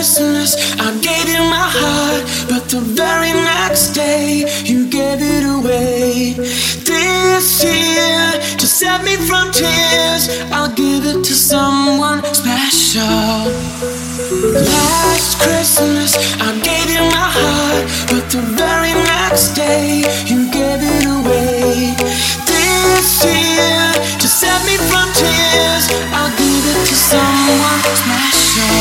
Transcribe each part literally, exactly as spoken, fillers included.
Christmas, I gave you my heart, but the very next day, you gave it away. This year, to save me from tears, I'll give it to someone special. Last Christmas, I gave you my heart, but the very next day, you gave it away. This year, to save me from tears, I'll give it to someone special.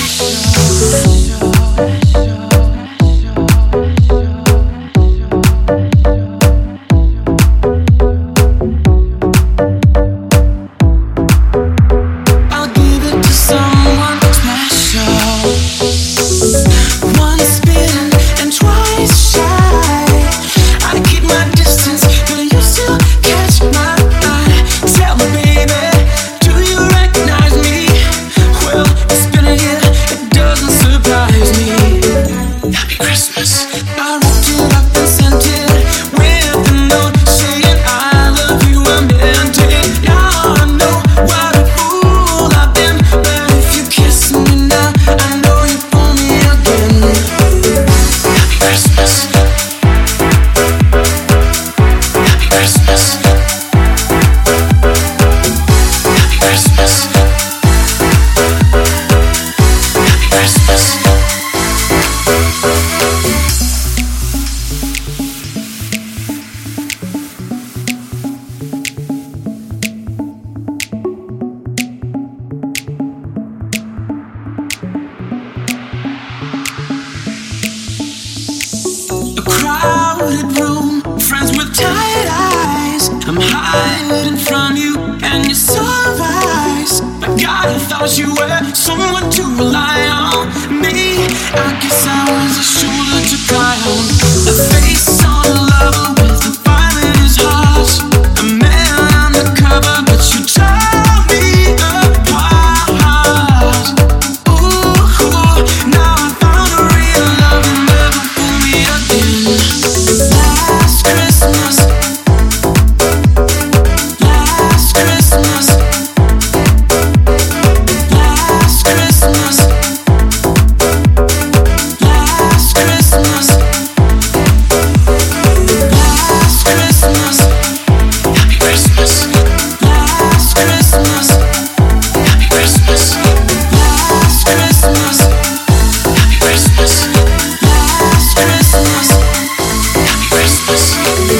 Crowded room, friends with tired eyes. I'm hiding from you and your surprise. But God, I thought you were someone to rely